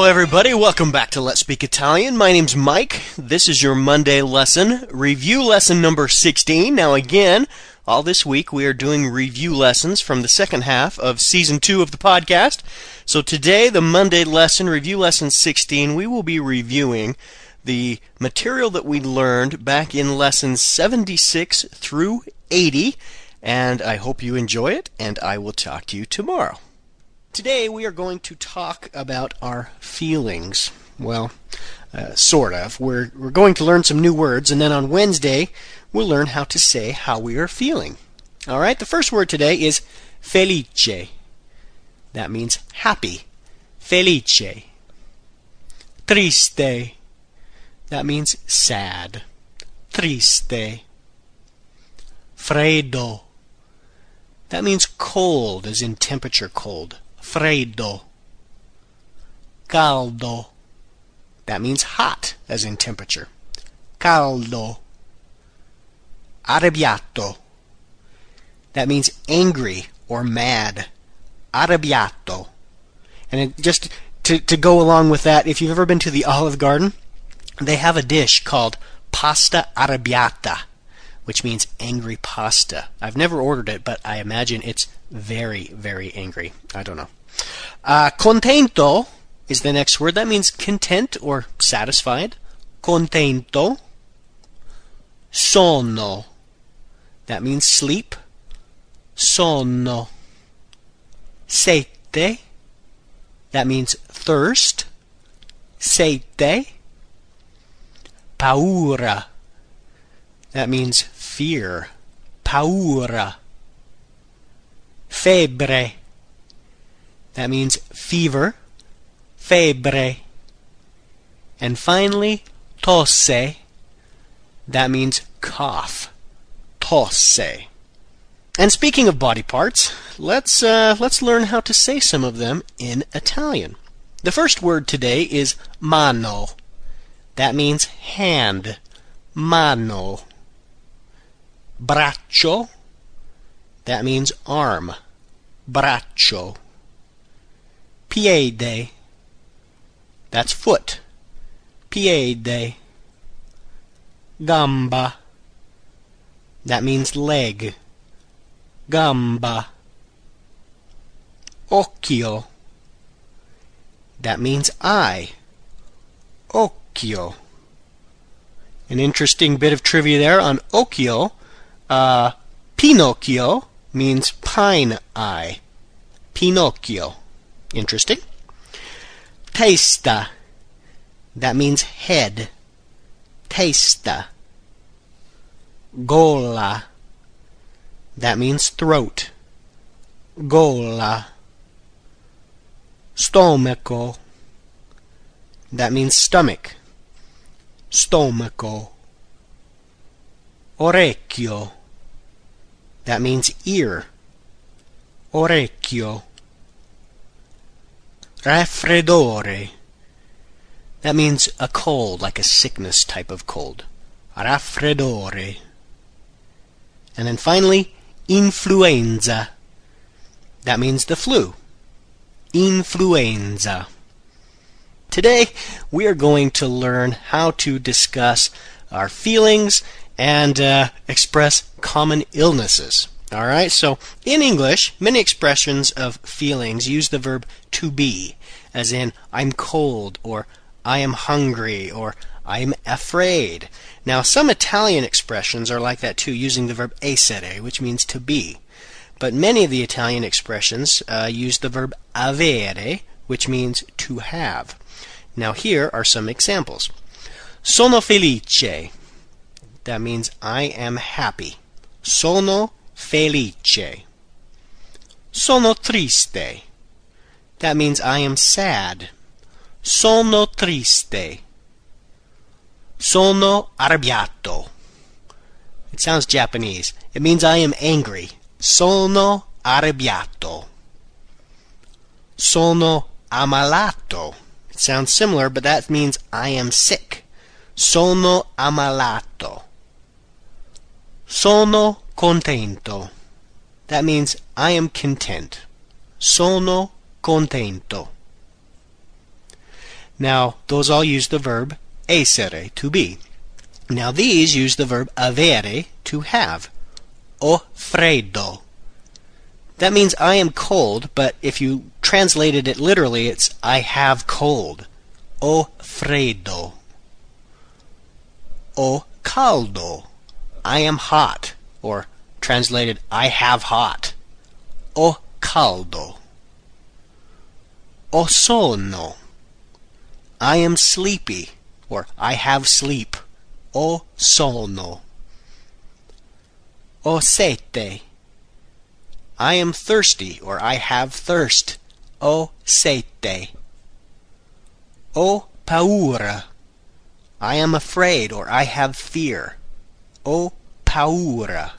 Hello everybody, welcome back to Let's Speak Italian. My name's Mike. This is your Monday lesson, review lesson number 16. Now again, all this week we are doing review lessons from the second half of Season 2 of the podcast. So today, the Monday lesson, review lesson 16, we will be reviewing the material that we learned back in lessons 76 through 80. And I hope you enjoy it, and I will talk to you tomorrow. Today we are going to talk about our feelings. Well, sort of. We're going to learn some new words, and then on Wednesday we'll learn how to say how we are feeling. All right, the first word today is felice. That means happy. Felice. Triste. That means sad. Triste. Freddo. That means cold, as in temperature cold. Freddo. Caldo. That means hot, as in temperature. Caldo. Arrabbiato. That means angry or mad. Arrabbiato. And just to go along with that, if you've ever been to the Olive Garden, they have a dish called pasta arrabbiata, which means angry pasta. I've never ordered it, but I imagine it's very, very angry. I don't know. Contento is the next word. That means content or satisfied. Contento. Sonno. That means sleep. Sonno. Sete. That means thirst. Sete. Paura. That means fear. Paura. Febbre. That means fever. Febbre. And finally, tosse. That means cough. Tosse. And speaking of body parts, let's learn how to say some of them in Italian. The first word today is mano. That means hand. Mano. Braccio. That means arm. Braccio. Piede. That's foot. Piede. Gamba. That means leg. Gamba. Occhio. That means eye. Occhio. An interesting bit of trivia there on occhio. Pinocchio means pine eye. Pinocchio. Interesting. Testa. That means head. Testa. Gola. That means throat. Gola. Stomaco. That means stomach. Stomaco. Orecchio. That means ear. Orecchio. Raffreddore. That means a cold, like a sickness type of cold. Raffreddore. And then finally, influenza. That means the flu. Influenza. Today, we are going to learn how to discuss our feelings and express common illnesses. All right, so in English, many expressions of feelings use the verb to be, as in, I'm cold, or I am hungry, or I'm afraid. Now, some Italian expressions are like that too, using the verb essere, which means to be. But many of the Italian expressions use the verb avere, which means to have. Now, here are some examples. Sono felice. That means I am happy. Sono felice. Sono triste. That means I am sad. Sono triste. Sono arrabbiato. It sounds Japanese. It means I am angry. Sono arrabbiato. Sono ammalato. It sounds similar, but that means I am sick. Sono ammalato. Sono contento. That means I am content. Sono contento. Now, those all use the verb essere, to be. Now, these use the verb avere, to have. Ho freddo. That means I am cold, but if you translated it literally, it's I have cold. Ho freddo. Ho caldo. I am hot, or translated I have hot. Ho caldo. Ho sonno. I am sleepy, or I have sleep. Ho sonno. Ho sete. I am thirsty, or I have thirst. Ho sete. Ho paura. I am afraid, or I have fear. Ho paura.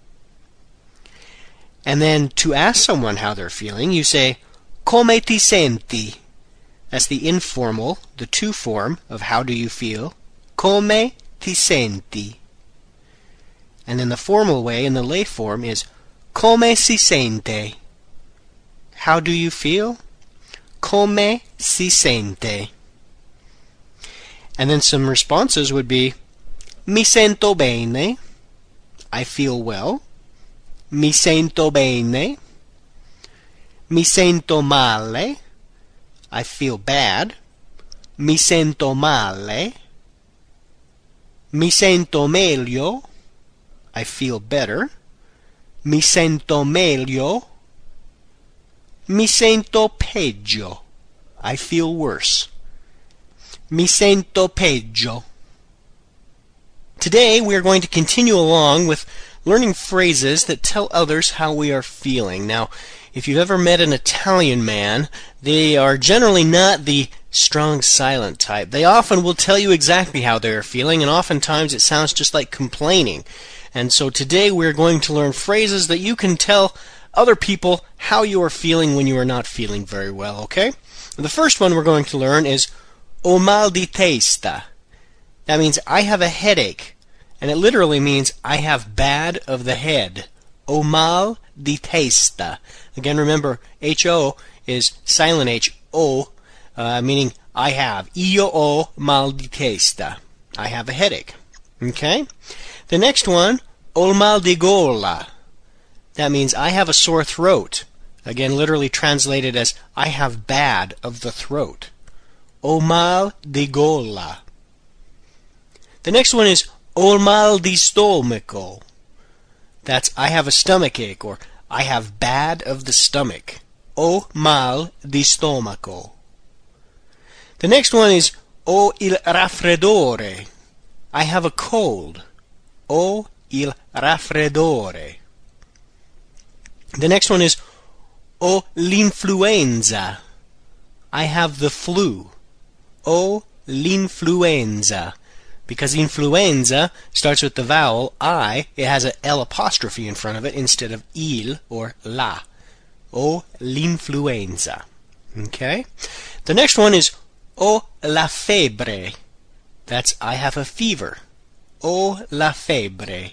And then to ask someone how they're feeling, you say, come ti senti? That's the informal, the to form of how do you feel. Come ti senti? And then the formal way, in the lay form, is come si sente? How do you feel? Come si sente? And then some responses would be, mi sento bene. I feel well. Mi sento bene. Mi sento male. I feel bad. Mi sento male. Mi sento meglio. I feel better. Mi sento meglio. Mi sento peggio. I feel worse. Mi sento peggio. Today we are going to continue along with learning phrases that tell others how we are feeling. Now, if you've ever met an Italian man, they are generally not the strong silent type. They often will tell you exactly how they are feeling, and oftentimes it sounds just like complaining. And so today we're going to learn phrases that you can tell other people how you are feeling when you are not feeling very well, okay? The first one we're going to learn is ho mal di testa. That means I have a headache, and it literally means I have bad of the head. Ho mal di testa. Again, remember, H-O is silent H, O, meaning I have. Io ho mal di testa. I have a headache. Okay? The next one, ho mal di gola. That means I have a sore throat. Again, literally translated as I have bad of the throat. Ho mal di gola. The next one is ho mal di stomaco. That's I have a stomach ache, or I have bad of the stomach. Ho mal di stomaco. The next one is ho il raffreddore. I have a cold. Ho il raffreddore. The next one is ho l'influenza. I have the flu. Ho l'influenza. Because influenza starts with the vowel I, it has an L apostrophe in front of it instead of il or la. Ho l'influenza. Okay? The next one is ho la febbre. That's I have a fever. Ho la febbre.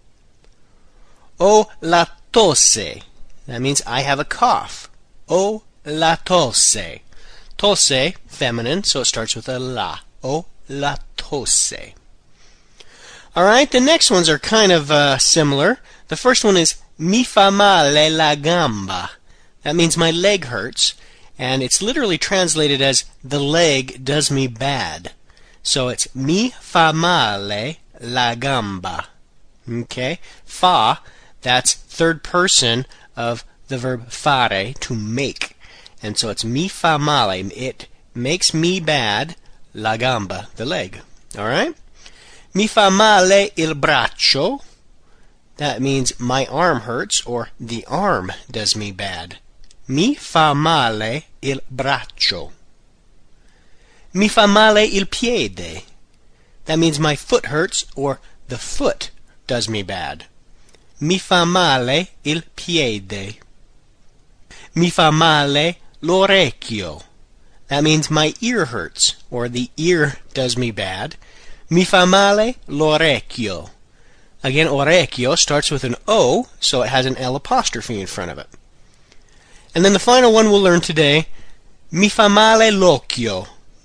Ho la tosse. That means I have a cough. Ho la tosse. Tosse, feminine, so it starts with a la. Ho la tosse. Alright, the next ones are kind of similar. The first one is mi fa male la gamba. That means my leg hurts, and it's literally translated as the leg does me bad. So it's mi fa male la gamba. Okay? Fa, that's third person of the verb fare, to make. And so it's mi fa male. It makes me bad, la gamba, the leg. Alright? Mi fa male il braccio. That means my arm hurts, or the arm does me bad. Mi fa male il braccio. Mi fa male il piede. That means my foot hurts, or the foot does me bad. Mi fa male il piede. Mi fa male l'orecchio. That means my ear hurts, or the ear does me bad. Mi fa male l'orecchio. Again, orecchio starts with an O, so it has an L apostrophe in front of it. And then the final one we'll learn today, mi fa male l'occhio.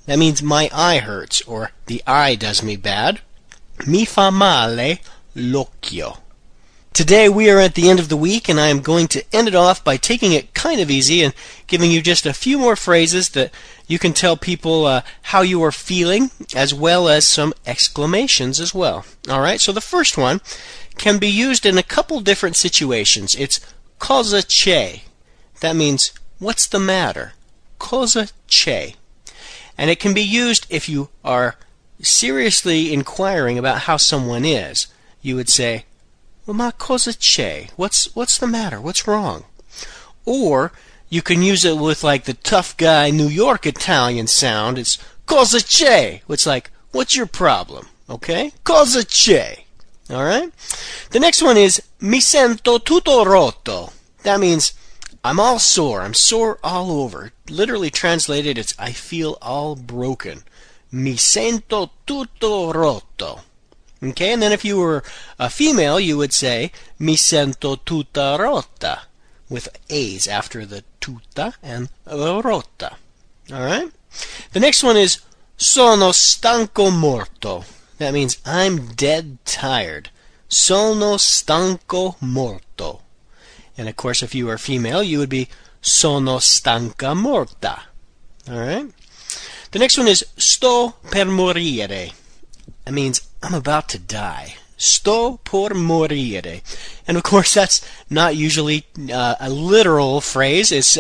That means my eye hurts, or the eye does me bad. Mi fa male l'occhio. Today we are at the end of the week, and I am going to end it off by taking it kind of easy and giving you just a few more phrases that you can tell people how you are feeling, as well as some exclamations as well. All right, so the first one can be used in a couple different situations. It's cosa c'è. That means, what's the matter? Cosa c'è. And it can be used if you are seriously inquiring about how someone is. You would say, well, ma cosa c'è? What's the matter? What's wrong? Or you can use it with like the tough guy New York Italian sound. It's cosa c'è? It's like, what's your problem? Okay? Cosa c'è? All right? The next one is mi sento tutto rotto. That means I'm all sore. I'm sore all over. Literally translated, it's I feel all broken. Mi sento tutto rotto. Okay, and then if you were a female, you would say mi sento tutta rotta, with A's after the tutta and the rotta. All right? The next one is sono stanco morto. That means I'm dead tired. Sono stanco morto. And of course, if you were female, you would be sono stanca morta. All right? The next one is sto per morire. That means I'm about to die. Sto per morire. And of course, that's not usually a literal phrase. It's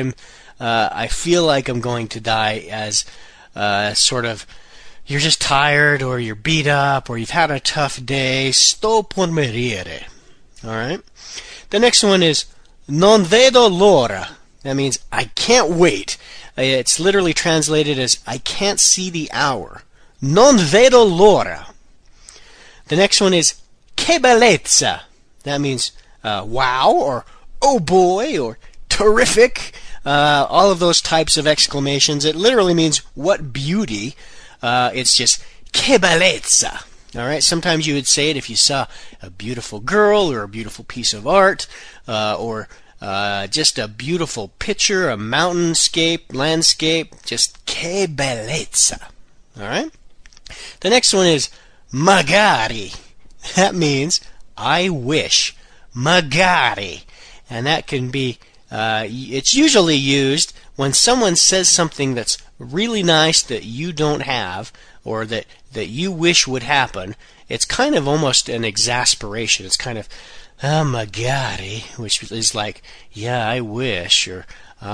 I feel like I'm going to die as sort of you're just tired or you're beat up or you've had a tough day. Sto per morire. All right? The next one is non vedo l'ora. That means I can't wait. It's literally translated as I can't see the hour. Non vedo l'ora. The next one is che bellezza. That means wow or oh boy or terrific. All of those types of exclamations. It literally means what beauty. It's just che bellezza. All right. Sometimes you would say it if you saw a beautiful girl or a beautiful piece of art or just a beautiful picture, a mountainscape, landscape. Just che bellezza. All right. The next one is magari. That means I wish. Magari. And that can be, it's usually used when someone says something that's really nice that you don't have or that you wish would happen. It's kind of almost an exasperation. It's kind of, magari, which is like, yeah, I wish, or,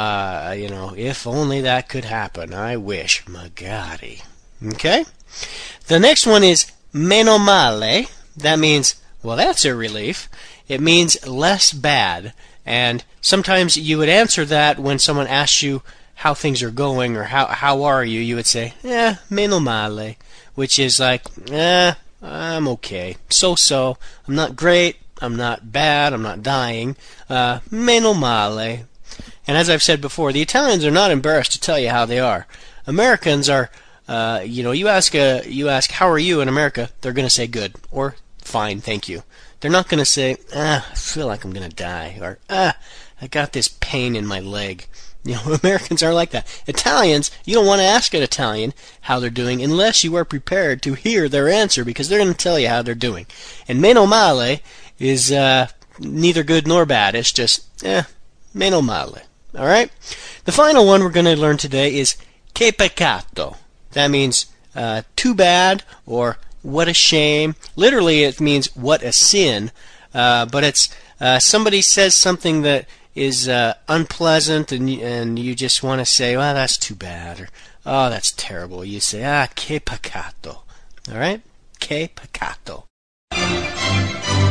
if only that could happen. I wish. Magari. Okay? The next one is meno male. That means, well, that's a relief. It means less bad. And sometimes you would answer that when someone asks you how things are going or how are you. You would say, meno male, which is like, I'm okay. So-so. I'm not great. I'm not bad. I'm not dying. Meno male. And as I've said before, the Italians are not embarrassed to tell you how they are. Americans are, you ask how are you in America, they're going to say good or fine, thank you. They're not going to say, I feel like I'm going to die, or I got this pain in my leg. Americans are like that. Italians, you don't want to ask an Italian how they're doing unless you are prepared to hear their answer, because they're going to tell you how they're doing. And meno male is neither good nor bad. It's just, meno male. All right? The final one we're going to learn today is che peccato. That means too bad or what a shame. Literally, it means what a sin. But it's somebody says something that is unpleasant, and you just want to say, well, that's too bad, or oh, that's terrible. You say, che peccato. All right? Che peccato.